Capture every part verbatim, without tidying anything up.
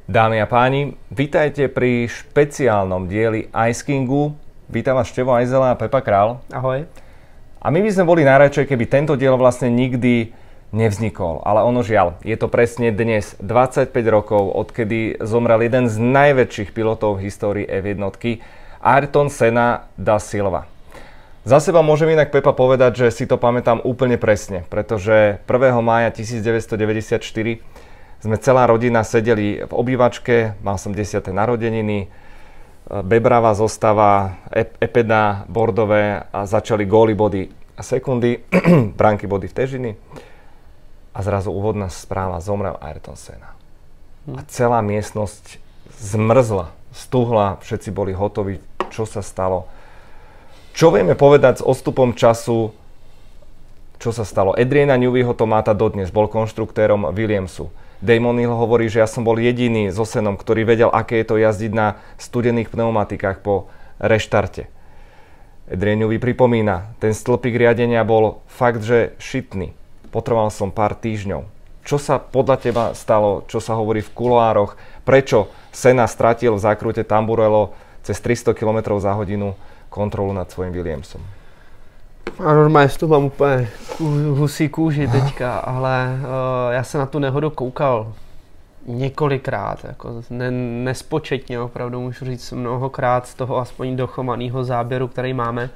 Dámy a páni, vítajte pri špeciálnom dieli Ice Kingu. Vítam vás Števo Ajzela a Pepa Král. Ahoj. A my by sme boli najradšej, keby tento diel vlastne nikdy nevznikol. Ale ono žiaľ, je to presne dnes dvadsaťpäť rokov, odkedy zomrel jeden z najväčších pilotov v histórii ef jedna, Ayrton Senna da Silva. Za seba môžem inak, Pepa, povedať, že si to pamätám úplne presne, pretože prvého mája devätnásťstodeväťdesiatštyri sme celá rodina sedeli v obývačke, mal som desiate narodeniny, bebravá zostava, epeda, bordové a začali góly, body a sekundy, bránky, body v težiny a zrazu úvodná správa, zomrel Ayrton Senna. A celá miestnosť zmrzla, stuhla, všetci boli hotoví, čo sa stalo. Čo vieme povedať s odstupom času, čo sa stalo? Adriana Neweyho to máta dodnes, bol konštruktérom Williamsu. Damon Hill hovorí, že ja som bol jediný so Sennom, ktorý vedel, aké je to jazdiť na studených pneumatikách po reštarte. Adrian Newey pripomína, ten stĺpik riadenia bol fakt, že šitný. Potreboval som pár týždňov. Čo sa podľa teba stalo, čo sa hovorí v kuloároch? Prečo Senna stratil v zákrute Tamburello cez tristo kilometrov za hodinu kontrolu nad svojím Williamsom? A normálně to mám úplně husí kůži teďka, ale uh, já jsem na tu nehodu koukal několikrát, jako ne, nespočetně, opravdu můžu říct mnohokrát z toho aspoň dochomaného záběru, který máme.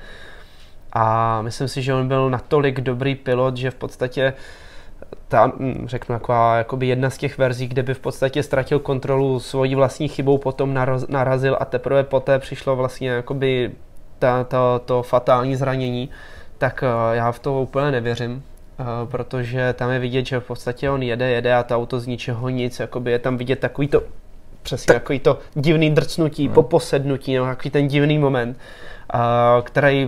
A myslím si, že on byl natolik dobrý pilot, že v podstatě ta, řeknu, taková jakoby jedna z těch verzí, kde by v podstatě ztratil kontrolu svojí vlastní chybou, potom naraz, narazil a teprve poté přišlo vlastně jakoby ta, ta, to fatální zranění, tak já v to úplně nevěřím, protože tam je vidět, že v podstatě on jede, jede a to auto z ničeho nic, jakoby je tam vidět takový to, přesně takový to divný drcnutí, no. po posednutí, no, takový ten divný moment, který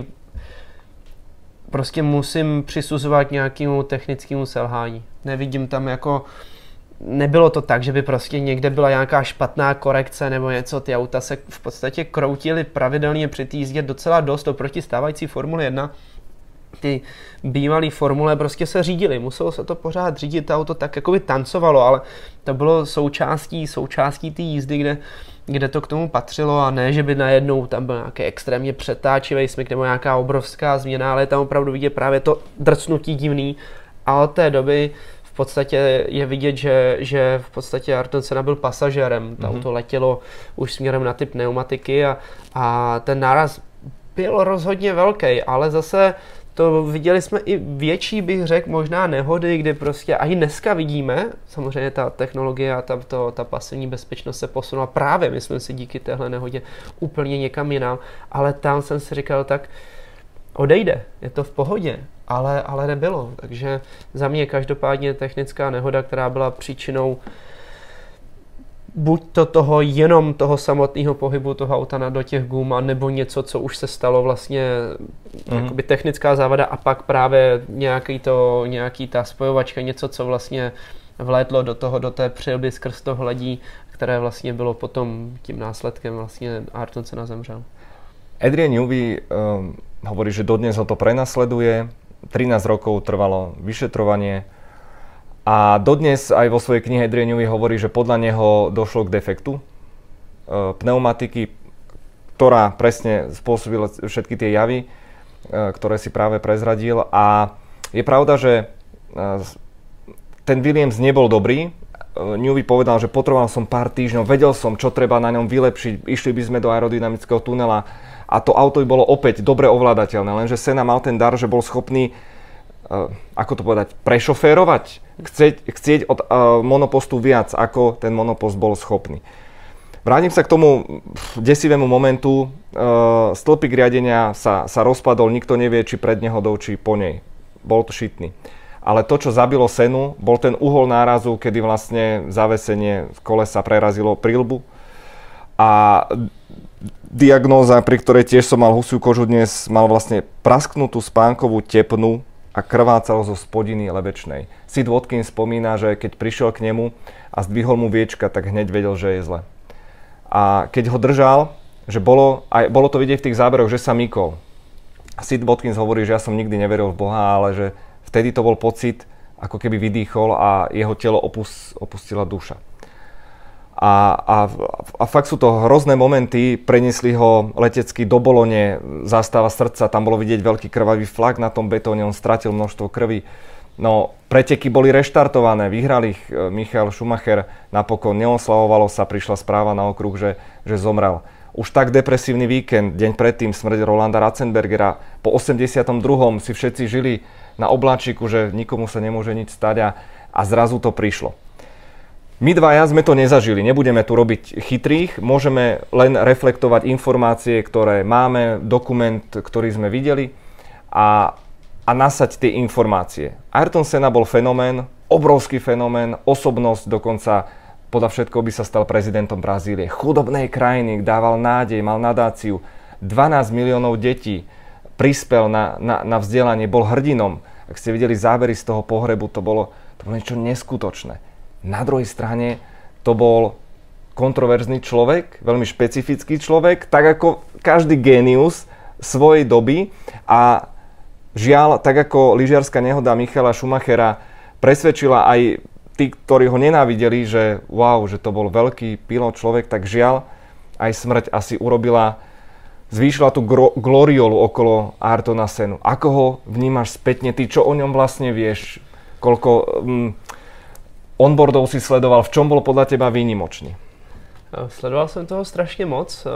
prostě musím přisuzovat nějakému technickému selhání. Nevidím tam jako, nebylo to tak, že by prostě někde byla nějaká špatná korekce nebo něco, ty auta se v podstatě kroutily pravidelně při té jízdě docela dost oproti stávající Formule jedna. Ty bývalé formule prostě se řídily, muselo se to pořád řídit, to auto tak jako by tancovalo, ale to bylo součástí, součástí té jízdy, kde, kde to k tomu patřilo a ne, že by najednou tam byl nějaký extrémně přetáčivý smyk nebo nějaká obrovská změna, ale tam opravdu vidět právě to drcnutí divný a od té doby v podstatě je vidět, že, že v podstatě Ayrton Senna byl pasažérem, to mm-hmm. auto letělo už směrem na ty pneumatiky a, a ten náraz byl rozhodně velký, ale zase to viděli jsme i větší, bych řekl, možná nehody, kdy prostě a i dneska vidíme, samozřejmě ta technologie a ta, to, ta pasivní bezpečnost se posunula právě, myslím si, díky téhle nehodě úplně někam jinam, ale tam jsem si říkal, tak odejde, je to v pohodě, ale, ale nebylo, takže za mě každopádně technická nehoda, která byla příčinou buď to toho, jenom toho samotného pohybu toho auta na do těch gum, nebo něco, co už se stalo vlastně mm. jakoby technická závada a pak právě nějaký, to, nějaký ta spojovačka, něco, co vlastně vlétlo do toho, do té přilby skrz to hledí, které vlastně bylo potom tím následkem vlastně Ayrton Senna zemřel. Adrian Newey um, hovorí, že dodnes ho to prenasleduje, trinásť rokov trvalo vyšetrovanie. A dodnes aj vo svojej knihe Adrian Newey hovorí, že podľa neho došlo k defektu e, pneumatiky, ktorá presne spôsobila všetky tie javy, e, ktoré si práve prezradil. A je pravda, že e, ten Williams nebol dobrý. E, Newey povedal, že potreboval som pár týždňov, vedel som, čo treba na ňom vylepšiť, išli by sme do aerodynamického tunela a to auto by bolo opäť dobre ovládateľné. Lenže Senna mal ten dar, že bol schopný Uh, ako to povedať, prešoférovať, chcieť, chcieť od uh, monopostu viac, ako ten monopost bol schopný. Vrátim sa k tomu desivému momentu. Uh, stĺpik riadenia sa, sa rozpadol, nikto nevie, či pred nehodou, či po nej. Bol to šitný. Ale to, čo zabilo Sennu, bol ten uhol nárazu, kedy vlastne zavesenie kolesa prerazilo príľbu. A diagnóza, pri ktorej tiež som mal husiu kožu dnes, mal vlastne prasknutú spánkovú tepnu a krvácalo zo spodiny lebečnej. Sid Watkins spomína, že keď prišiel k nemu a zdvihol mu viečka, tak hneď vedel, že je zle. A keď ho držal, že bolo, aj, bolo to vidieť v tých záberoch, že sa mykol. A Sid Watkins hovorí, že ja som nikdy neveril v Boha, ale že vtedy to bol pocit, ako keby vydýchol a jeho telo opust, opustila duša. A, a, a fakt sú to hrozné momenty, preniesli ho letecky do Bolone, zástava srdca, tam bolo vidieť veľký krvavý flak na tom betóne, on stratil množstvo krvi. No, preteky boli reštartované, vyhrali ich Michael Schumacher, napokon neoslavovalo sa, prišla správa na okruh, že, že zomrel. Už tak depresívny víkend, deň predtým smrť Rolanda Ratzenbergera, po osemdesiatom druhom si všetci žili na obláčiku, že nikomu sa nemôže nič stať a, a zrazu to prišlo. My dvaja sme to nezažili, nebudeme tu robiť chytrých, môžeme len reflektovať informácie, ktoré máme, dokument, ktorý sme videli a, a nasať tie informácie. Ayrton Senna bol fenomén, obrovský fenomén, osobnosť, dokonca podľa všetkoho by sa stal prezidentom Brazílie. Chudobnej krajiny, dával nádej, mal nadáciu, dvanásť miliónov detí, prispel na, na, na vzdelanie, bol hrdinom. Ak ste videli zábery z toho pohrebu, to bolo, to bolo niečo neskutočné. Na druhej strane to bol kontroverzný človek, veľmi špecifický človek, tak ako každý génius svojej doby a žiaľ, tak ako lyžiarska nehoda Michaela Schumachera presvedčila aj tí, ktorí ho nenávideli, že wow, že to bol veľký pilot človek, tak žiaľ, aj smrť asi urobila, zvýšila tú gro- gloriolu okolo Ayrtona Sennu. Ako ho vnímaš spätne, ty čo o ňom vlastne vieš, koľko mm, onboardov si sledoval, v čom bol podľa teba výnimočný? Sledoval jsem toho strašně moc,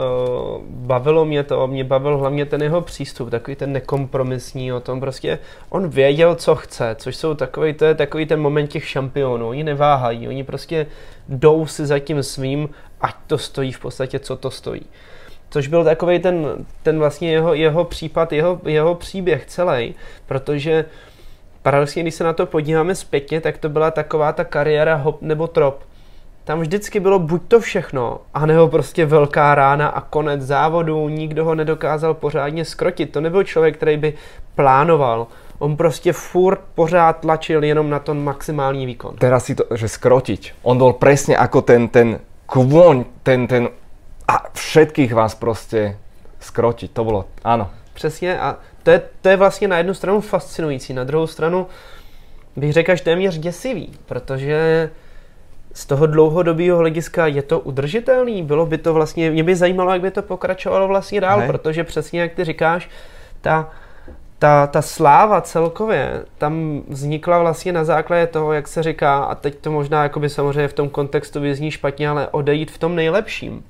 bavilo mě to, mě bavil hlavně ten jeho přístup, takový ten nekompromisní o tom prostě, on věděl, co chce, což jsou takový, to je takový ten moment těch šampionů, oni neváhají, oni prostě jdou si za tím svým, ať to stojí v podstatě, co to stojí. Což byl takový ten, ten vlastně jeho, jeho případ, jeho, jeho příběh celý, protože paradoxně, když se na to podíváme zpětně, tak to byla taková ta kariéra hop nebo trop. Tam vždycky bylo buď to všechno, anebo prostě velká rána a konec závodu, nikdo ho nedokázal pořádně skrotit. To nebyl člověk, který by plánoval. On prostě furt pořád tlačil jenom na ten maximální výkon. Teraz si to, že skrotiť. On bol presne ako ten, ten kôň, ten, ten a všetkých vás prostě skrotiť. To bylo, áno. Přesně a to je, to je vlastně na jednu stranu fascinující, na druhou stranu bych řekl až téměř děsivý, protože z toho dlouhodobého hlediska je to udržitelný, bylo by to vlastně, mě by zajímalo, jak by to pokračovalo vlastně dál, Hej. Protože přesně jak ty říkáš, ta, ta, ta sláva celkově tam vznikla vlastně na základě toho, jak se říká, a teď to možná jakoby samozřejmě v tom kontextu vyzní špatně, ale odejít v tom nejlepším.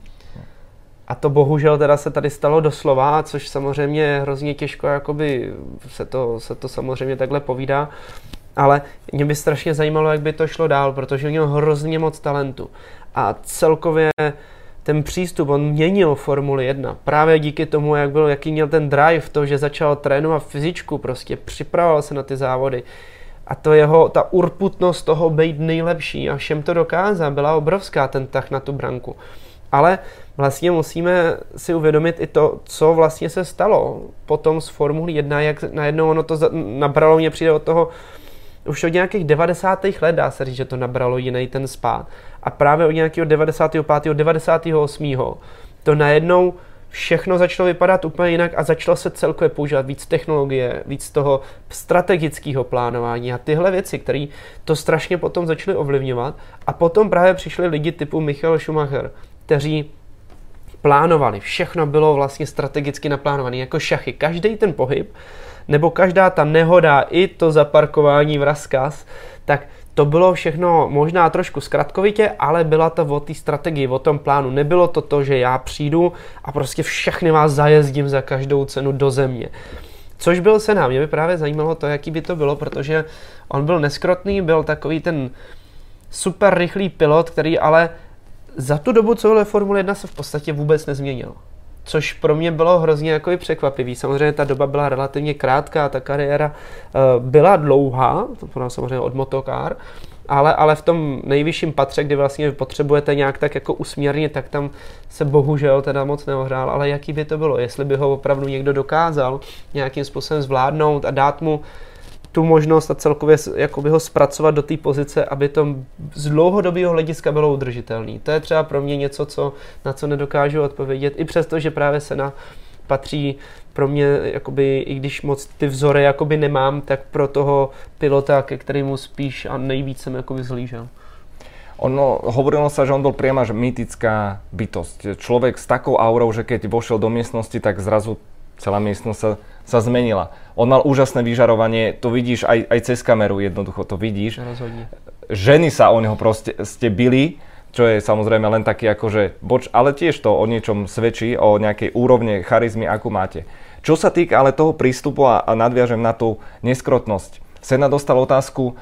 A to bohužel teda se tady stalo doslova, což samozřejmě je hrozně těžko, jakoby se to, se to samozřejmě takhle povídá. Ale mě by strašně zajímalo, jak by to šlo dál, protože měl hrozně moc talentu. A celkově ten přístup, on měnil Formuli jedna. Právě díky tomu, jak byl, jaký měl ten drive, to, že začal trénovat fyzičku, prostě připravoval se na ty závody. A to jeho, ta urputnost toho být nejlepší a všem to dokázal, byla obrovská, ten tah na tu branku. Ale vlastně musíme si uvědomit i to, co vlastně se stalo potom z Formule jedna, jak najednou ono to nabralo, mě přijde od toho, už od nějakých devadesátých let dá se říct, že to nabralo jiný ten spád. A právě od nějakého devadesátého pátého devadesátého osmého to najednou všechno začalo vypadat úplně jinak a začalo se celkově používat víc technologie, víc toho strategického plánování a tyhle věci, které to strašně potom začaly ovlivňovat. A potom právě přišli lidi typu Michael Schumacher, kteří plánovali, všechno bylo vlastně strategicky naplánované, jako šachy. Každý ten pohyb, nebo každá ta nehoda, i to zaparkování v rozkaz, tak to bylo všechno možná trošku zkratkovitě, ale byla to o té strategii, o tom plánu. Nebylo to to, že já přijdu a prostě všechny vás zajezdím za každou cenu do země. Což byl Senna. Mě by právě zajímalo to, jaký by to bylo, protože on byl neskrotný, byl takový ten super rychlý pilot, který ale za tu dobu, co byl Formule jedna, se v podstatě vůbec nezměnil. Což pro mě bylo hrozně jako překvapivý. Samozřejmě ta doba byla relativně krátká, ta kariéra uh, byla dlouhá, to bylo samozřejmě od motokár, ale, ale v tom nejvyšším patře, kdy vlastně potřebujete nějak tak jako usměrnit, tak tam se bohužel teda moc neohrál, ale jaký by to bylo, jestli by ho opravdu někdo dokázal nějakým způsobem zvládnout a dát mu tu možnost a celkově jakoby ho zpracovat do té pozice, aby to z dlouhodobého hlediska bylo udržitelné. To je třeba pro mě něco, co, na co nedokážu odpovědět, i přesto, že právě Senna patří pro mě, jakoby, i když moc ty vzory jakoby nemám, tak pro toho pilota, ke kterému spíš a nejvíc jsem jakoby zhlížel. Ono, hovorilo sa, že on bol priama že mýtická bytosť. Človek s takou aurou, že keď vošiel do miestnosti, tak zrazu celá miestnosť sa, sa zmenila. On mal úžasné vyžarovanie, to vidíš aj, aj cez kameru, jednoducho to vidíš. Rozhodne. Ženy sa o neho proste ste bili, čo je samozrejme len taký akože boč, ale tiež to o niečom svedčí, o nejakej úrovne charizmy, akú máte. Čo sa týka ale toho prístupu a, a nadviažem na tú neskrotnosť. Sena dostal otázku,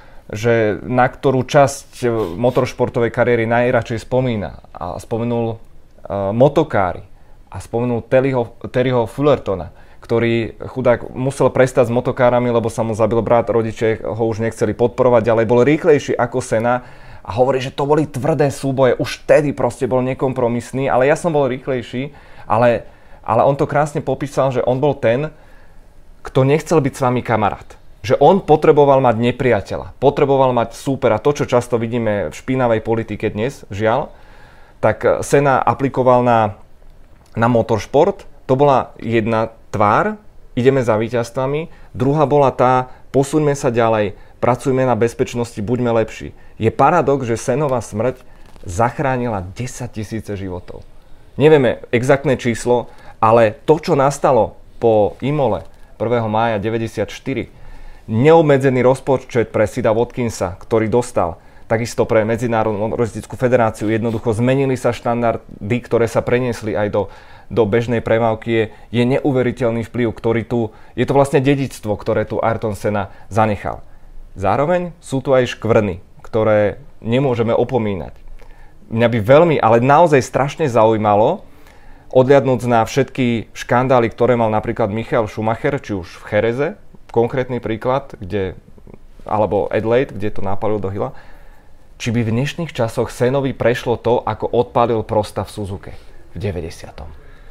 že na ktorú časť motoršportovej kariéry najradšej spomína. A spomenul uh, motokári a spomenul Terryho, Terryho Fullertona, ktorý chudák musel prestať s motokárami, lebo sa mu zabil brat, rodičia ho už nechceli podporovať ďalej, bol rýchlejší ako Sena a hovorí, že to boli tvrdé súboje, už vtedy proste bol nekompromisný, ale ja som bol rýchlejší, ale, ale on to krásne popísal, že on bol ten, kto nechcel byť s vami kamarát. Že on potreboval mať nepriateľa, potreboval mať súpera. To, čo často vidíme v špinavej politike dnes, žiaľ, tak Sena aplikoval na, na motoršport. To bola jedna tvár, ideme za víťazstvami. Druhá bola tá, posuňme sa ďalej, pracujme na bezpečnosti, buďme lepší. Je paradox, že Senova smrť zachránila desaťtisíce životov. Nevieme exaktné číslo, ale to, čo nastalo po Imole prvého mája deväťdesiatštyri, neobmedzený rozpočet pre Sida Watkinsa, ktorý dostal, takisto pre Medzinárodnú motoristickú federáciu, jednoducho zmenili sa štandardy, ktoré sa preniesli aj do, do bežnej premávky, je, je neuveriteľný vplyv, ktorý tu, je to vlastne dedičstvo, ktoré tu Ayrton Senna zanechal. Zároveň sú tu aj škvrny, ktoré nemôžeme opomínať. Mňa by veľmi, ale naozaj strašne zaujímalo, odliadnúc na všetky škandály, ktoré mal napríklad Michael Schumacher, či už v Jereze, konkrétny príklad, kde, alebo Adelaide, kde to napálil do hila, či by v dnešných časoch Sennovi prešlo to, ako odpálil Prosta v Suzuke v deväťdesiatom.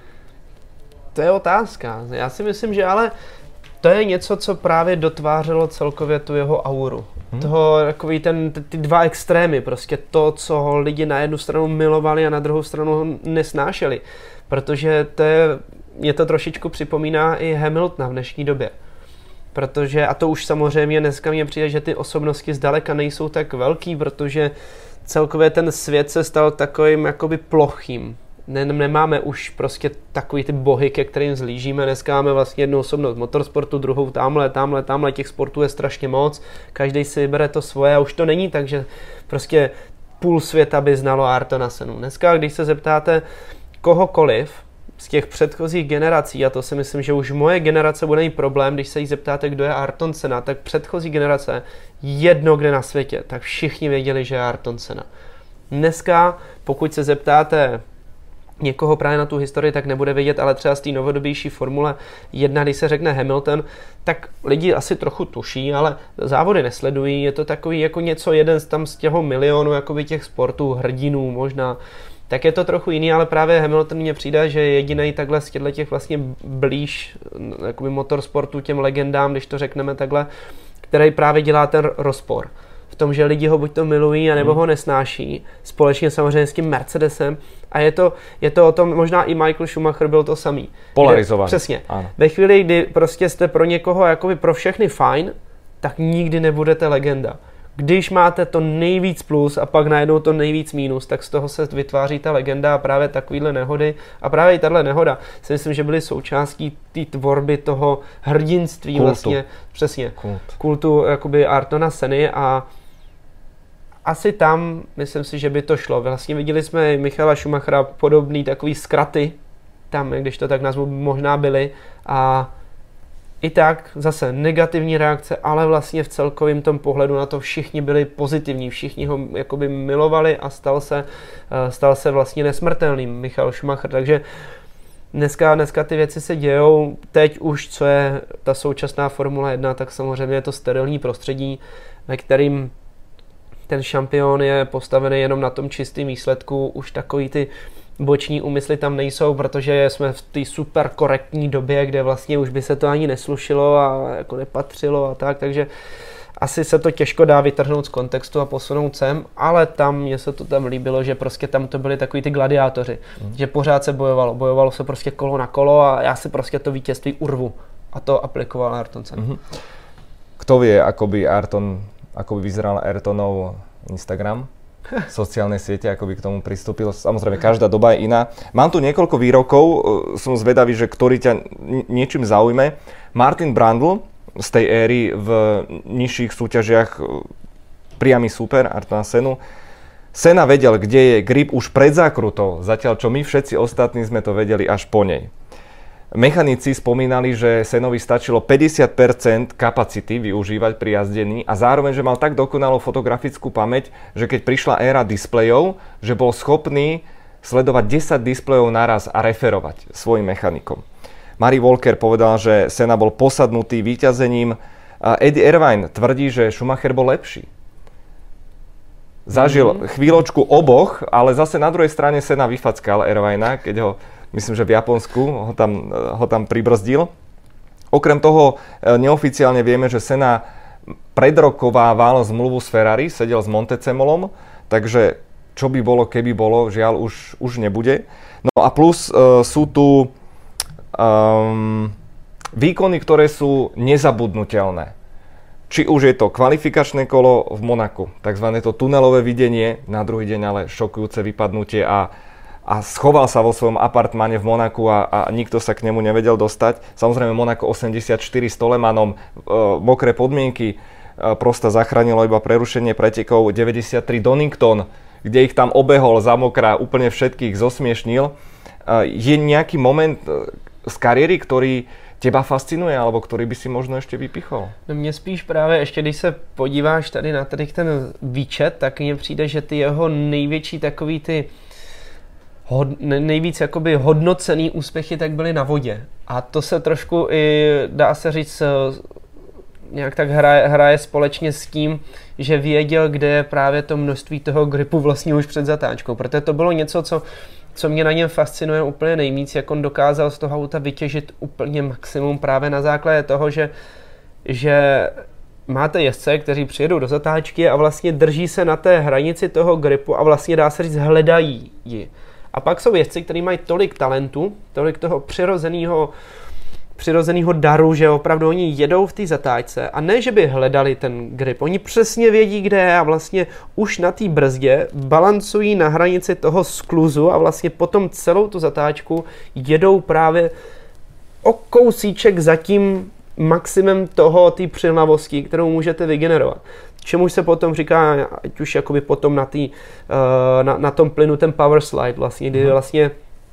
To je otázka. Já si myslím, že ale to je něco, co právě dotvářelo celkově tu jeho auru. Hmm. Toho, takový ten, ty dva extrémy, prostě to, co ho lidi na jednu stranu milovali a na druhou stranu ho nesnášeli. Protože to je, mě to trošičku připomíná i Hamiltona v dnešní době. Protože, a to už samozřejmě dneska mně přijde, že ty osobnosti zdaleka nejsou tak velký, protože celkově ten svět se stal takovým jakoby plochým. Ne, nemáme už prostě takový ty bohy, ke kterým zlížíme. Dneska máme vlastně jednu osobnost motorsportu, druhou tamhle, tamhle, tamhle, těch sportů je strašně moc. Každý si bere to svoje a už to není tak, že prostě půl světa by znalo Ayrtona Sennu. Dneska, když se zeptáte kohokoliv z těch předchozích generací, a to si myslím, že už moje generace bude mít problém, když se jí zeptáte, kdo je Ayrton Senna, tak předchozí generace, jedno kde na světě, tak všichni věděli, že je Ayrton Senna. Dneska, pokud se zeptáte někoho právě na tu historii, tak nebude vědět, ale třeba z té novodobější Formule jedna, když se řekne Hamilton, tak lidi asi trochu tuší, ale závody nesledují, je to takový jako něco jeden z tam z těho milionu jakoby těch sportů, hrdinů možná, tak je to trochu jiný, ale právě Hamilton mně přijde, že je jedinej takhle z těchto těch vlastně blíž jakoby motorsportu těm legendám, když to řekneme takhle, který právě dělá ten rozpor. V tom, že lidi ho buď to milují, anebo hmm. ho nesnáší, společně samozřejmě s tím Mercedesem. A je to, je to o tom, možná i Michael Schumacher byl to samý. Polarizovaný. Přesně. Ano. Ve chvíli, kdy prostě jste pro někoho, jakoby pro všechny fajn, tak nikdy nebudete legenda. Když máte to nejvíc plus a pak najednou to nejvíc mínus, tak z toho se vytváří ta legenda a právě takovýhle nehody. A právě i tahle nehoda si myslím, že byly součástí té tvorby toho hrdinství kultu. Vlastně. Přesně. Kult. Kultu jakoby Ayrtona Senny a asi tam, myslím si, že by to šlo. Vlastně viděli jsme Michaela Schumachera podobný takový zkraty, tam, když to tak nazvu, možná byly. A i tak zase negativní reakce, ale vlastně v celkovém tom pohledu na to všichni byli pozitivní, všichni ho jakoby milovali a stal se, stal se vlastně nesmrtelným Michael Schumacher. Takže dneska, dneska ty věci se dějou. Teď už, co je ta současná Formule jedna, tak samozřejmě je to sterilní prostředí, ve kterým ten šampion je postavený jenom na tom čistém výsledku, už takový ty boční úmysly tam nejsou, protože jsme v té super korektní době, kde vlastně už by se to ani neslušilo a jako nepatřilo a tak, takže asi se to těžko dá vytrhnout z kontextu a posunout sem, ale tam mně se to tam líbilo, že prostě tam to byli takový ty gladiátoři, mm. že pořád se bojovalo, bojovalo se prostě kolo na kolo a já si prostě to vítězství urvu a to aplikoval Ayrton Senna. Mm-hmm. Kto vie, ako by Ayrton, ako by vyzeral Ayrtonov Instagram? sociálne siete, ako by k tomu pristúpil. Samozrejme, každá doba je iná. Mám tu niekoľko výrokov, som zvedavý, že ktorý ťa niečím zaujme. Martin Brundle z tej éry v nižších súťažiach priamy súper Ayrtona Senu. Senna vedel, kde je grip už pred zákrutou, zatiaľ čo my všetci ostatní sme to vedeli až po nej. Mechanici spomínali, že Sennovi stačilo päťdesiat percent kapacity využívať pri jazdení a zároveň, že mal tak dokonalú fotografickú pamäť, že keď prišla éra displejov, že bol schopný sledovať desať displejov naraz a referovať svojim mechanikom. Murray Walker povedal, že Senna bol posadnutý víťazením. Eddie Irvine tvrdí, že Schumacher bol lepší. Zažil mm-hmm. chvíľočku oboch, ale zase na druhej strane Senna vyfackal Irvina, keď ho myslím, že v Japonsku ho tam, ho tam pribrzdil. Okrem toho neoficiálne vieme, že Senna predrokovával zmluvu s Ferrari, sedel s Montecemolom, takže čo by bolo, keby bolo, žiaľ už, už nebude. No a plus uh, sú tu um, výkony, ktoré sú nezabudnutelné. Či už je to kvalifikačné kolo v Monaku, takzvané to tunelové videnie, na druhý deň ale šokujúce vypadnutie a a schoval sa vo svojom apartmáne v Monaku a, a nikto sa k nemu nevedel dostať. Samozrejme Monako osemdesiatštyri s Tolemanom, e, mokré podmienky, e, Prosta zachránilo iba prerušenie pretekov. deväťdesiattri Donington, kde ich tam obehol za mokrá, úplne všetkých zosmiešnil. E, je nejaký moment e, z kariéry, ktorý teba fascinuje, alebo ktorý by si možno ještě vypichol? No mně spíš právě, ještě když se podíváš tady na tady ten výčet, tak mně přijde, že ty jeho největší takový ty Hod, nejvíc jakoby hodnocený úspěchy tak byly na vodě. A to se trošku i, dá se říct, nějak tak hraje, hraje společně s tím, že věděl, kde je právě to množství toho gripu vlastně už před zatáčkou. Protože to bylo něco, co, co mě na něm fascinuje úplně nejvíc, jak on dokázal z toho auta vytěžit úplně maximum právě na základě toho, že, že máte jezdce, kteří přijedou do zatáčky a vlastně drží se na té hranici toho gripu a vlastně dá se říct hledají ji. A pak jsou jezdci, kteří mají tolik talentu, tolik toho přirozeného, přirozeného daru, že opravdu oni jedou v té zatáčce a ne, že by hledali ten grip. Oni přesně vědí, kde je a vlastně už na té brzdě balancují na hranici toho skluzu a vlastně potom celou tu zatáčku jedou právě o kousíček za tím maximem toho, té přilnavosti, kterou můžete vygenerovat. Čemuž se potom říká, ať už jakoby potom na, tý, na, na tom plynu ten power slide vlastně, kdy vlastně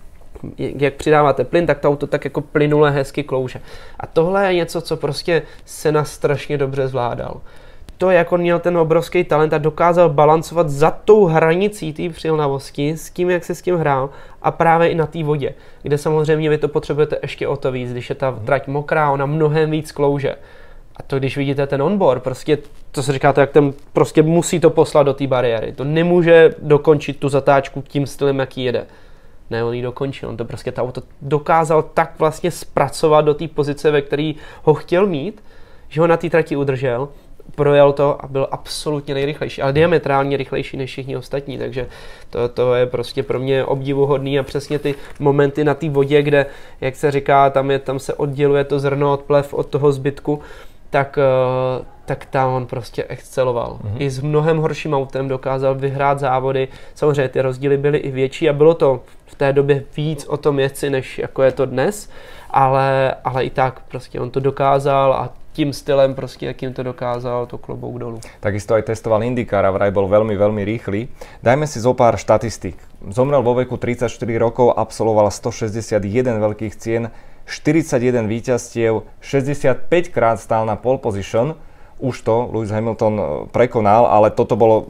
jak přidáváte plyn, tak to auto tak jako plynule hezky klouže. A tohle je něco, co prostě Senna strašně dobře zvládal. To, jak on měl ten obrovský talent a dokázal balancovat za tou hranicí té přilnavosti s tím, jak se s tím hrál a právě i na té vodě, kde samozřejmě vy to potřebujete ještě o to víc, když je ta trať mokrá, ona mnohem víc klouže. A to, když vidíte ten onboard, prostě to se říká to, jak ten prostě musí to poslat do té bariéry. To nemůže dokončit tu zatáčku tím stylem, jaký jede. Ne, on ji dokončil. On to prostě to auto dokázal tak vlastně zpracovat do té pozice, ve které ho chtěl mít, že ho na té trati udržel, projel to a byl absolutně nejrychlejší, ale diametrálně rychlejší než všichni ostatní, takže to, to je prostě pro mě obdivuhodný a přesně ty momenty na té vodě, kde, jak se říká, tam, je, tam se odděluje to zrno od plev od toho zbytku, tak, tak tam on prostě exceloval. Mm-hmm. I s mnohem horším autem dokázal vyhrát závody. Samozřejmě ty rozdíly byly i větší a bylo to v té době víc o tom jezdci, než jako je to dnes, ale, ale i tak prostě on to dokázal a tím stylem prostě, jakým to dokázal, to klobouk dolů. Takisto aj testoval IndyCar a vraj bol veľmi, veľmi rýchly. Dajme si zo pár štatistík. Zomrel vo veku tridsaťštyri rokov, absolvoval stošesťdesiatjeden veľkých cien, štyridsaťjeden víťazstiev, šesťdesiatpäť krát stál na pole position. Už to Lewis Hamilton prekonal, ale toto bolo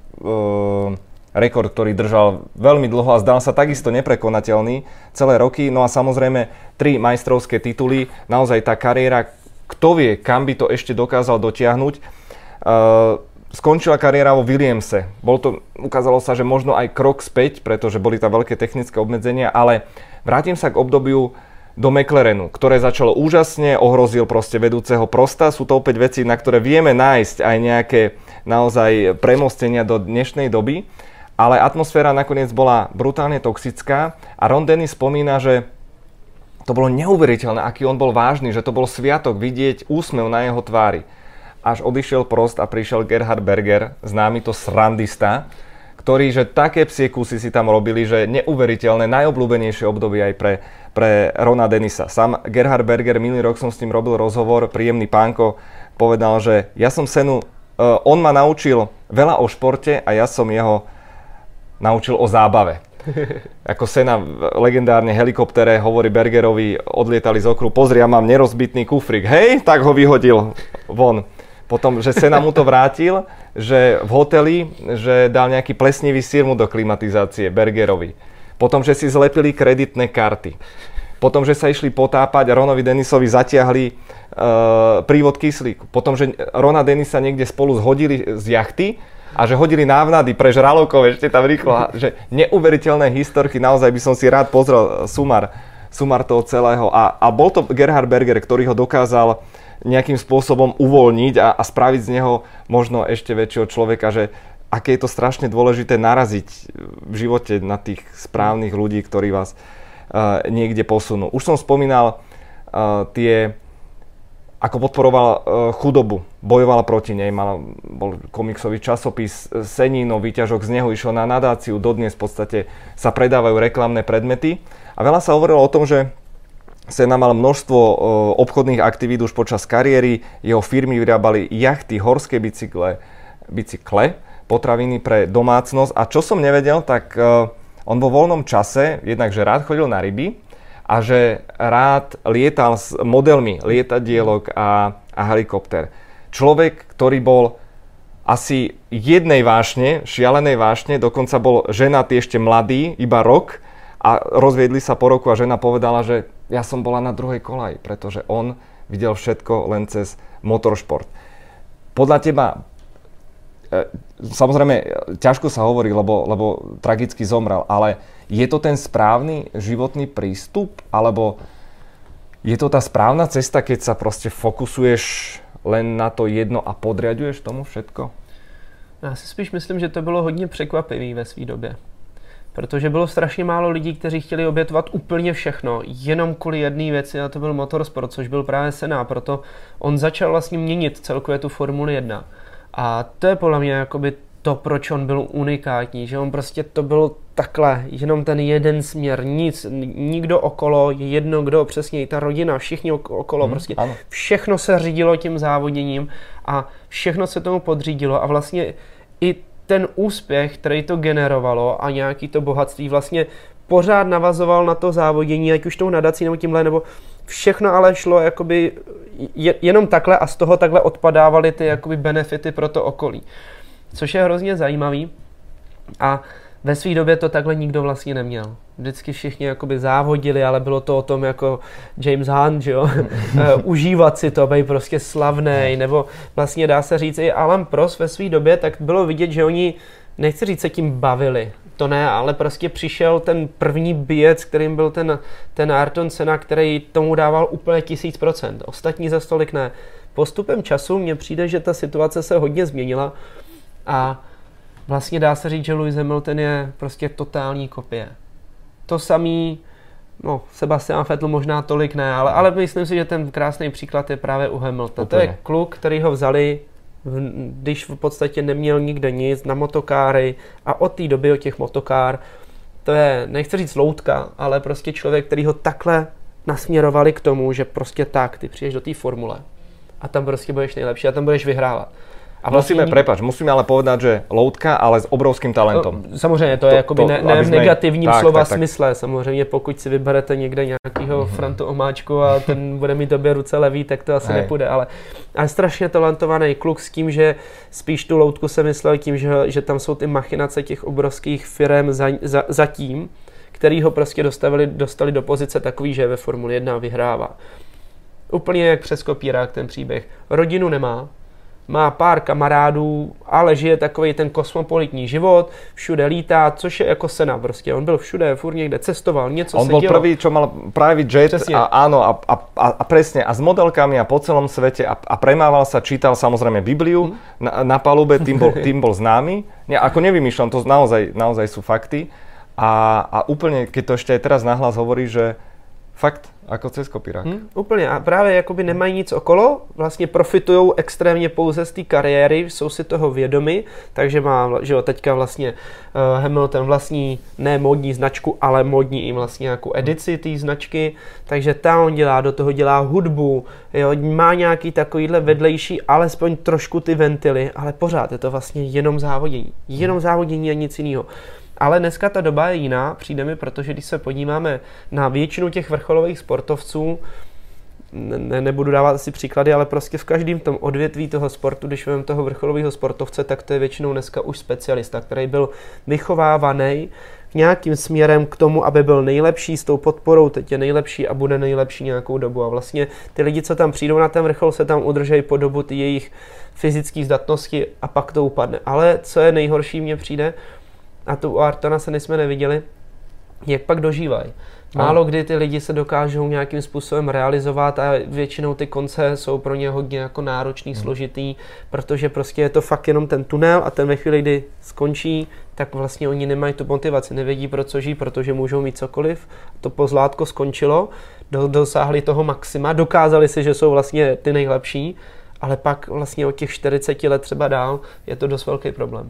uh, rekord, ktorý držal veľmi dlho a zdal sa takisto neprekonateľný celé roky. No a samozrejme tri majstrovské tituly, naozaj tá kariéra, kto vie, kam by to ešte dokázal dotiahnuť. Uh, skončila kariéra vo Williamse. Bol to, ukázalo sa, že možno aj krok späť, pretože boli tam veľké technické obmedzenia, ale vrátim sa k obdobiu do McLarenu, ktoré začalo úžasne, ohrozil proste vedúceho Prosta. Sú to opäť veci, na ktoré vieme nájsť aj nejaké naozaj premostenia do dnešnej doby, ale atmosféra nakoniec bola brutálne toxická a Ron Dennis spomína, že to bolo neuveriteľné, aký on bol vážny, že to bol sviatok vidieť úsmev na jeho tvári. Až odišiel Prost a prišiel Gerhard Berger, známy to srandista, ktorí, že také psie kusy si tam robili, že neuveriteľné, najobľúbenejšie obdobie aj pre, pre Rona Dennisa. Sám Gerhard Berger, minulý rok som s ním robil rozhovor, príjemný pánko, povedal, že ja som Senu, uh, on ma naučil veľa o športe a ja som jeho naučil o zábave. Ako Senna v legendárne helikoptere hovorí Bergerovi, odlietali z okruhu, pozri, ja mám nerozbitný kufrik, hej, tak ho vyhodil von. Potom, že Senna mu to vrátil, že v hoteli, že dal nejaký plesnivý sír mu do klimatizácie Bergerovi. Potom, že si zlepili kreditné karty. Potom, že sa išli potápať a Ronovi Dennisovi zatiahli uh, prívod kyslíku. Potom, že Rona Dennisa niekde spolu zhodili z jachty a že hodili návnady pre žralokov ešte tam rýchlo. Že neuveriteľné historky, naozaj by som si rád pozrel sumar, sumar toho celého. A, a bol to Gerhard Berger, ktorý ho dokázal nejakým spôsobom uvoľniť a, a spraviť z neho možno ešte väčšieho človeka, že aké je to strašne dôležité naraziť v živote na tých správnych ľudí, ktorí vás uh, niekde posunú. Už som spomínal uh, tie, ako podporoval uh, chudobu, bojovala proti nej, mal, bol komiksový časopis Senino, výťažok z neho išiel na nadáciu, dodnes v podstate sa predávajú reklamné predmety a veľa sa hovorilo o tom, že Senna mal množstvo uh, obchodných aktivít už počas kariéry, jeho firmy vyrábali jachty, horské bicykle, bicykle, potraviny pre domácnosť a čo som nevedel, tak uh, on vo voľnom čase jednak, že rád chodil na ryby a že rád lietal s modelmi lietadielok a, a helikopter. Človek, ktorý bol asi jednej vášne, šialenej vášne, dokonca bol ženatý ešte mladý, iba rok a rozviedli sa po roku a žena povedala, že ja som bola na druhej kolaji, pretože on videl všetko len cez motoršport. Podľa teba, e, samozrejme, ťažko sa hovorí, lebo, lebo tragicky zomrel, ale je to ten správny životný prístup, alebo je to tá správna cesta, keď sa proste fokusuješ len na to jedno a podriaduješ tomu všetko? Já si spíš myslím, že to bylo hodně překvapivý ve své době. Protože bylo strašně málo lidí, kteří chtěli obětovat úplně všechno, jenom kvůli jedné věci, a to byl motorsport, což byl právě Senna, proto on začal vlastně měnit celkově tu Formuli jedna. A to je podle mě jakoby to, proč on byl unikátní, že on prostě to byl takhle, jenom ten jeden směr, nic, nikdo okolo, jedno, kdo přesně, ta rodina, všichni okolo, hmm, prostě ano. Všechno se řídilo tím závoděním a všechno se tomu podřídilo a vlastně i ten úspěch, který to generovalo a nějaký to bohatství vlastně pořád navazoval na to závodění, ať už tou nadací nebo tímhle, nebo všechno ale šlo jakoby je, jenom takhle a z toho takhle odpadávaly ty jakoby benefity pro to okolí. Což je hrozně zajímavý a ve své době to takhle nikdo vlastně neměl. Vždycky všichni jakoby závodili, ale bylo to o tom jako James Hunt, že jo? Užívat si to, být prostě slavnej, nebo vlastně dá se říct i Alain Prost ve své době, tak bylo vidět, že oni, nechci říct, se tím bavili. To ne, ale prostě přišel ten první bijec, kterým byl ten, ten Ayrton Senna, který tomu dával úplně tisíc procent. Ostatní za stolik ne. Postupem času mně přijde, že ta situace se hodně změnila a vlastně dá se říct, že Lewis Hamilton je prostě totální kopie. To samý, no Sebastian Vettel možná tolik ne, ale, ale myslím si, že ten krásný příklad je právě u Hamiltona. To je kluk, který ho vzali, když v podstatě neměl nikde nic, na motokáry a od té doby, od těch motokár, to je, nechci říct loutka, ale prostě člověk, který ho takhle nasměrovali k tomu, že prostě tak, ty přijdeš do té formule a tam prostě budeš nejlepší a tam budeš vyhrávat. A vlastne musíme, prepáč, musíme ale povedať, že loutka, ale s obrovským talentom. Samozřejmě, to je to, jakoby to, ne, ne v negativním tak, slova tak, tak. smysle. Samozřejmě, pokud si vyberete někde nějakého mm-hmm. Frantu Omáčku a ten bude mít době ruce levý, tak to asi Hej. nepůjde. Ale, ale strašně talentovaný kluk s tím, že spíš tu loutku se myslel tím, že, že tam jsou ty machinace těch obrovských firem za, za, za tím, který ho prostě dostavili, dostali do pozice takový, že ve Formuli jedna vyhrává. Úplně jak přes kopírák ten příběh. Rodinu nemá, má pár kamarádů, ale žije takový ten kosmopolitní život, všude lítá, což je jako Senna prostě. On byl všude, furt někde cestoval, něco on se bol dělo. prvý, čo mal private jet Přesně. a áno, a, a, a, a presne, a s modelkami a po celom svete a, a premával sa, čítal samozrejme Bibliu mm. na, na palube, tým bol, tým bol známy. Nie, ako nevymýšľam, to naozaj, naozaj sú fakty. A, a úplne, keď to ešte aj teraz nahlas hovorí, že Fakt, jako cez kopírák. Hmm, úplně. A právě jakoby nemají nic okolo, vlastně profitují extrémně pouze z té kariéry, jsou si toho vědomi, takže má, že jo, teďka vlastně uh, Hamilton vlastní ne módní značku, ale módní i vlastně nějakou edici té značky, takže ta on dělá, do toho dělá hudbu, jo, má nějaký takovýhle vedlejší, alespoň trošku ty ventily, ale pořád je to vlastně jenom závodění. Jenom závodění a nic jiného. Ale dneska ta doba je jiná, přijde mi, protože když se podíváme na většinu těch vrcholových sportovců, ne, nebudu dávat asi příklady, ale prostě v každém tom odvětví toho sportu, když vezmeme toho vrcholového sportovce, tak to je většinou dneska už specialista, který byl vychovávaný nějakým směrem k tomu, aby byl nejlepší s tou podporou, teď je nejlepší a bude nejlepší nějakou dobu. A vlastně ty lidi, co tam přijdou na ten vrchol, se tam udržejí po dobu ty jejich fyzické zdatnosti a pak to upadne. Ale co je nejhorší, mně přijde, a tu u Ayrtona se nejsme neviděli, jak pak dožívají. Málo kdy ty lidi se dokážou nějakým způsobem realizovat a většinou ty konce jsou pro ně hodně jako náročný, hmm. složitý, protože prostě je to fakt jenom ten tunel a ten ve chvíli, kdy skončí, tak vlastně oni nemají tu motivaci, nevědí pro co žijí, protože můžou mít cokoliv. To pozlátko skončilo, do, dosáhli toho maxima, dokázali si, že jsou vlastně ty nejlepší, ale pak vlastně od těch čtyřiceti let třeba dál je to dost velký problém.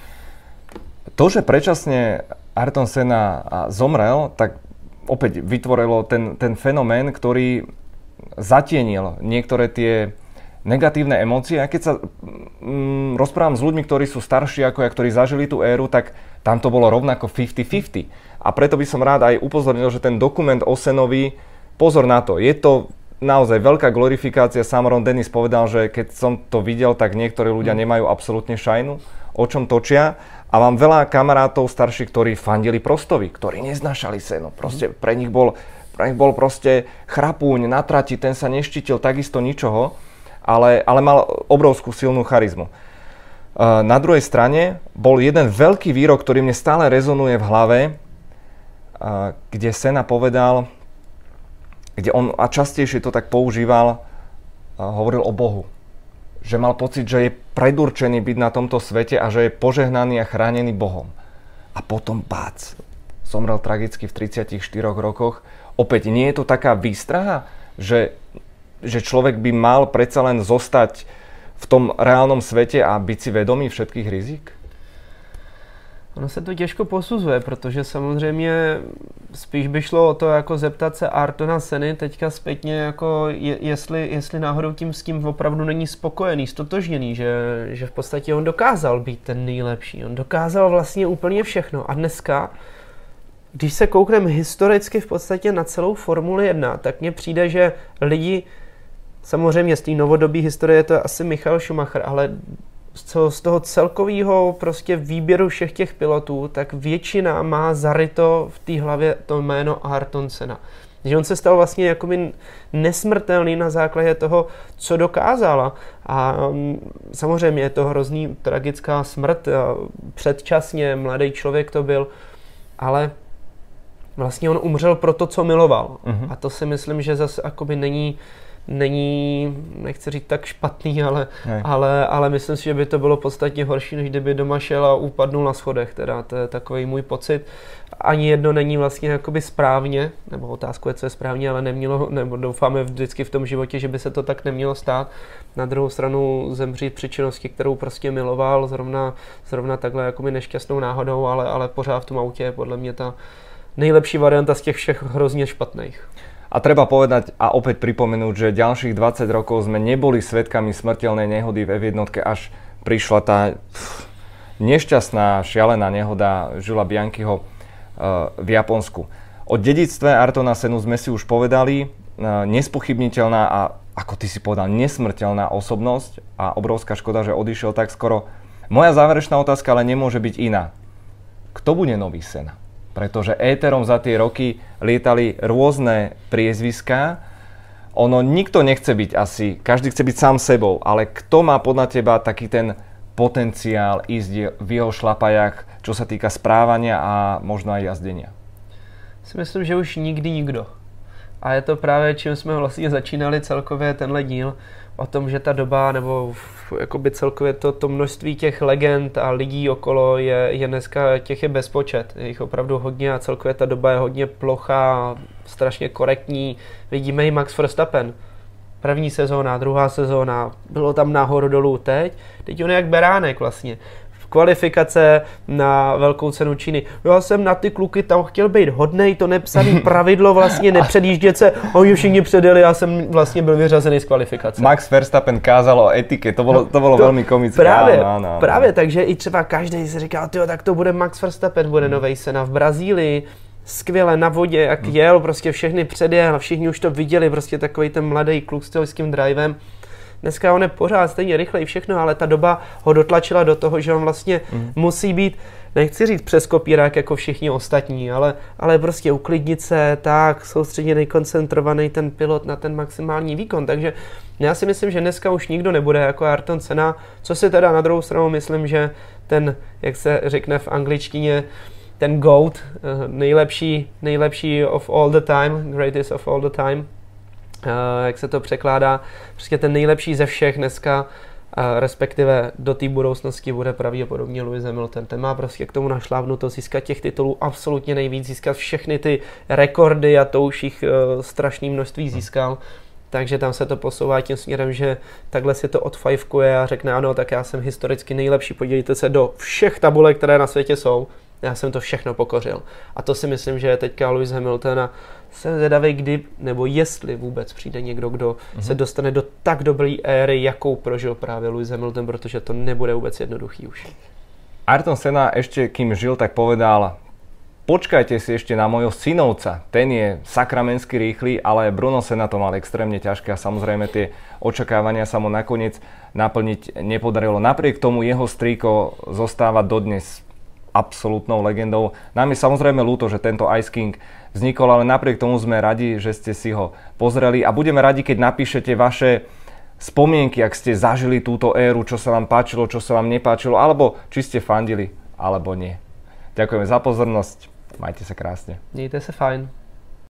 To, že predčasne Ayrton Senna zomrel, tak opäť vytvorilo ten, ten fenomén, ktorý zatienil niektoré tie negatívne emócie. A keď sa mm, rozprávam s ľuďmi, ktorí sú starší ako ja, ktorí zažili tú éru, tak tam to bolo rovnako päťdesiat päťdesiat. A preto by som rád aj upozornil, že ten dokument o Sennovi, pozor na to, je to naozaj veľká glorifikácia. Sám Ron Dennis povedal, že keď som to videl, tak niektorí ľudia nemajú absolútne šajnu, o čom točia. A mám veľa kamarátov starších, ktorí fandili Prostovi, ktorí neznášali Sennu. Proste pre nich bol, pre nich bol proste chrapúň na trati, ten sa neštítil takisto ničoho, ale, ale mal obrovskú silnú charizmu. Uh, na druhej strane bol jeden veľký výrok, ktorý mne stále rezonuje v hlave, uh, kde Senna povedal, kde on a častejšie to tak používal, uh, hovoril o Bohu. Že mal pocit, že je predurčený byť na tomto svete a že je požehnaný a chránený Bohom. A potom bác, zomrel tragicky v tridsiatich štyroch rokoch. Opäť nie je to taká výstraha, že, že človek by mal predsa len zostať v tom reálnom svete a byť si vedomý všetkých rizik? Ono se to těžko posuzuje, protože samozřejmě spíš by šlo o to, jako zeptat se Ayrtona Senny teďka zpětně, jako je, jestli, jestli náhodou tím s tím opravdu není spokojený, stotožněný, že, že v podstatě on dokázal být ten nejlepší. On dokázal vlastně úplně všechno. A dneska, když se koukneme historicky v podstatě na celou Formuli jedna, tak mně přijde, že lidi, samozřejmě z té novodobí historie je to asi Michael Schumacher, ale z toho celkového prostě výběru všech těch pilotů, tak většina má zaryto v té hlavě to jméno Ayrton Senna. Že on se stal vlastně jakoby nesmrtelný na základě toho, co dokázala. A samozřejmě je to hrozný tragická smrt, předčasně mladý člověk to byl, ale vlastně on umřel pro to, co miloval. Uh-huh. A to si myslím, že zase jakoby není není, nechci říct tak špatný, ale, ale, ale myslím si, že by to bylo podstatně horší, než kdyby doma šel a upadnul na schodech, teda to je takový můj pocit. Ani jedno není vlastně jakoby správně, nebo otázku je, co je správně, ale nemělo, nebo doufáme vždycky v tom životě, že by se to tak nemělo stát. Na druhou stranu zemřít při činnosti, kterou prostě miloval, zrovna, zrovna takhle jakoby nešťastnou náhodou, ale, ale pořád v tom autě je podle mě ta nejlepší varianta z těch všech hrozně špatných. A treba povedať a opäť pripomenúť, že ďalších dvadsať rokov sme neboli svedkami smrteľnej nehody v ef jedna, až prišla tá pff, nešťastná, šialená nehoda Jules Bianchiho uh, v Japonsku. O dedičstve Ayrtona Sennu sme si už povedali, uh, nespochybniteľná a, ako ty si povedal, nesmrteľná osobnosť a obrovská škoda, že odišiel tak skoro. Moja záverečná otázka ale nemôže byť iná. Kto bude nový Senna? Pretože éterom za tie roky lietali rôzne priezviská. Ono nikto nechce byť asi, každý chce byť sám sebou, ale kto má podľa teba taký ten potenciál ísť v jeho šlapajach, čo sa týka správania a možno aj jazdenia? Si myslím, že už nikdy nikdo. A je to právě, čím jsme vlastně začínali celkově tenhle díl, o tom, že ta doba, nebo jakoby celkově to, to množství těch legend a lidí okolo je, je dneska, těch je bezpočet. Je jich opravdu hodně a celkově ta doba je hodně plochá, strašně korektní. Vidíme i Max Verstappen. První sezóna, druhá sezóna, bylo tam nahoru dolů teď. Teď on je jak beránek vlastně. Kvalifikace na velkou cenu Číny. Já jsem na ty kluky tam chtěl být hodnej, to nepsaný pravidlo vlastně nepředjíždět se. Oni všichni předjeli, já jsem vlastně byl vyřazený z kvalifikace. Max Verstappen kázal o etike, to bylo, to bylo to, velmi komické. Právě, áno, áno, áno. právě, takže i třeba každý si říkal, tyjo, tak to bude Max Verstappen, bude novej Senna v Brazílii. Skvěle na vodě, jak hmm. jel, prostě všechny předjel, všichni už to viděli, prostě takový ten mladý kluk s tím drivem. Dneska on je pořád stejně rychlej všechno, ale ta doba ho dotlačila do toho, že on vlastně mm. musí být, nechci říct přes kopírák jako všichni ostatní, ale, ale prostě uklidnit se, tak soustředěný, koncentrovaný ten pilot na ten maximální výkon. Takže já si myslím, že dneska už nikdo nebude jako Ayrton Senna, co si teda na druhou stranu myslím, že ten, jak se řekne v angličtině, ten GOAT, nejlepší, nejlepší of all the time, greatest of all the time, Uh, jak se to překládá, prostě ten nejlepší ze všech dneska, uh, respektive do té budoucnosti bude pravděpodobně Lewis Hamilton. Ten má prostě k tomu našlávnuto získat těch titulů absolutně nejvíc, získat všechny ty rekordy a to už jich uh, strašné množství získal. Takže tam se to posouvá tím směrem, že takhle si to odfajfkuje a řekne ano, tak já jsem historicky nejlepší, podívejte se do všech tabulek, které na světě jsou. Já jsem to všechno pokořil. A to si myslím, že je teďka Lewis Hamilton a jsem zvědavý, kdy nebo jestli vůbec přijde někdo, kdo mm-hmm. se dostane do tak dobré éry, jakou prožil právě Lewis Hamilton, protože to nebude vůbec jednoduchý už. Ayrton Senna ešte kým žil, tak povedal: počkajte si ešte na mojho synovca, ten je sakramensky rýchly, ale Bruno Senna to mal extrémne ťažké a samozrejme tie očakávania sa mu nakoniec naplniť nepodarilo. Napriek tomu jeho strýko zostáva dodnes absolútnou legendou. Nám je samozrejme ľúto, že tento Ice King vznikol, ale napriek tomu sme radi, že ste si ho pozreli a budeme radi, keď napíšete vaše spomienky, ak ste zažili túto éru, čo sa vám páčilo, čo sa vám nepáčilo, alebo či ste fandili, alebo nie. Ďakujeme za pozornosť, majte sa krásne. Mějte se fajn.